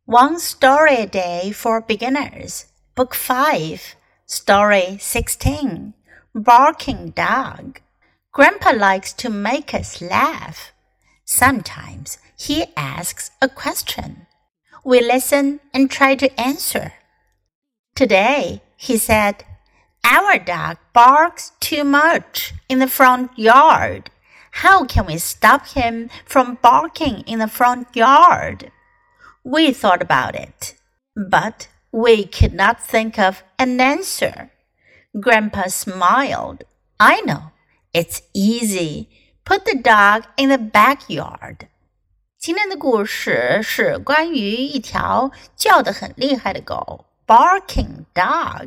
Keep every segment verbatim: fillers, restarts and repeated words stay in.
One Story a Day for Beginners, Book five, Story sixteen, Barking Dog. Grandpa likes to make us laugh. Sometimes he asks a question. We listen and try to answer. Today, he said, Our dog barks too much in the front yard. How can we stop him from barking in the front yard?We thought about it, but we could not think of an answer. Grandpa smiled. I know, it's easy. Put the dog in the backyard. 今天的故事是关于一条叫得很厉害的狗 Barking dog.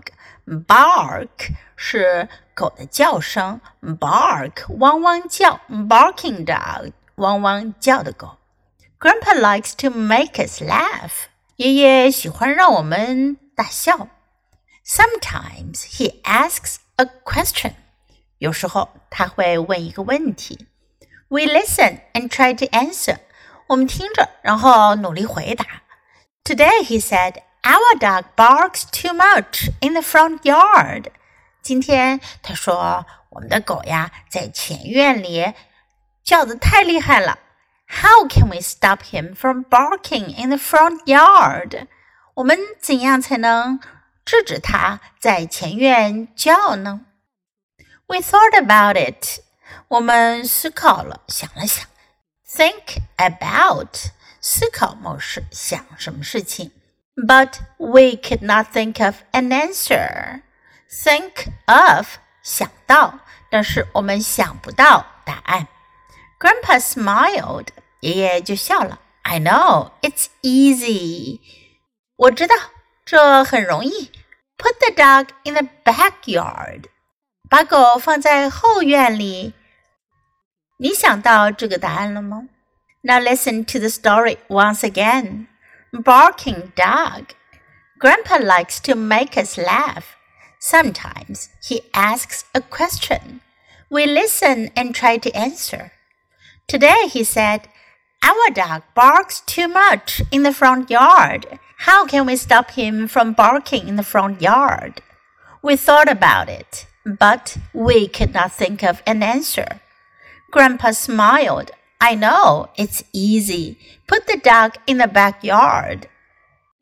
Bark 是狗的叫声 Bark 汪汪叫 Barking dog 汪汪叫的狗Grandpa likes to make us laugh. 爷爷喜欢让我们大笑。Sometimes he asks a question. 有时候他会问一个问题。We listen and try to answer. 我们听着，然后努力回答。Today he said, Our dog barks too much in the front yard. 今天他说，我们的狗呀，在前院里叫得太厉害了。How can we stop him from barking in the front yard? 我们怎样才能制止他在前院叫呢？ We thought about it. 我们思考了，想了想。Think about. 思考某事，想什么事情。But we could not think of an answer. Think of. 想到，但是我们想不到答案。Grandpa smiled. 爷爷就笑了。I know, it's easy. 我知道，这很容易。Put the dog in the backyard. 把狗放在后院里。你想到这个答案了吗？ Now listen to the story once again. Barking dog. Grandpa likes to make us laugh. Sometimes he asks a question. We listen and try to answer.Today he said, Our dog barks too much in the front yard. How can we stop him from barking in the front yard? We thought about it, but we could not think of an answer. Grandpa smiled. I know, it's easy. Put the dog in the backyard.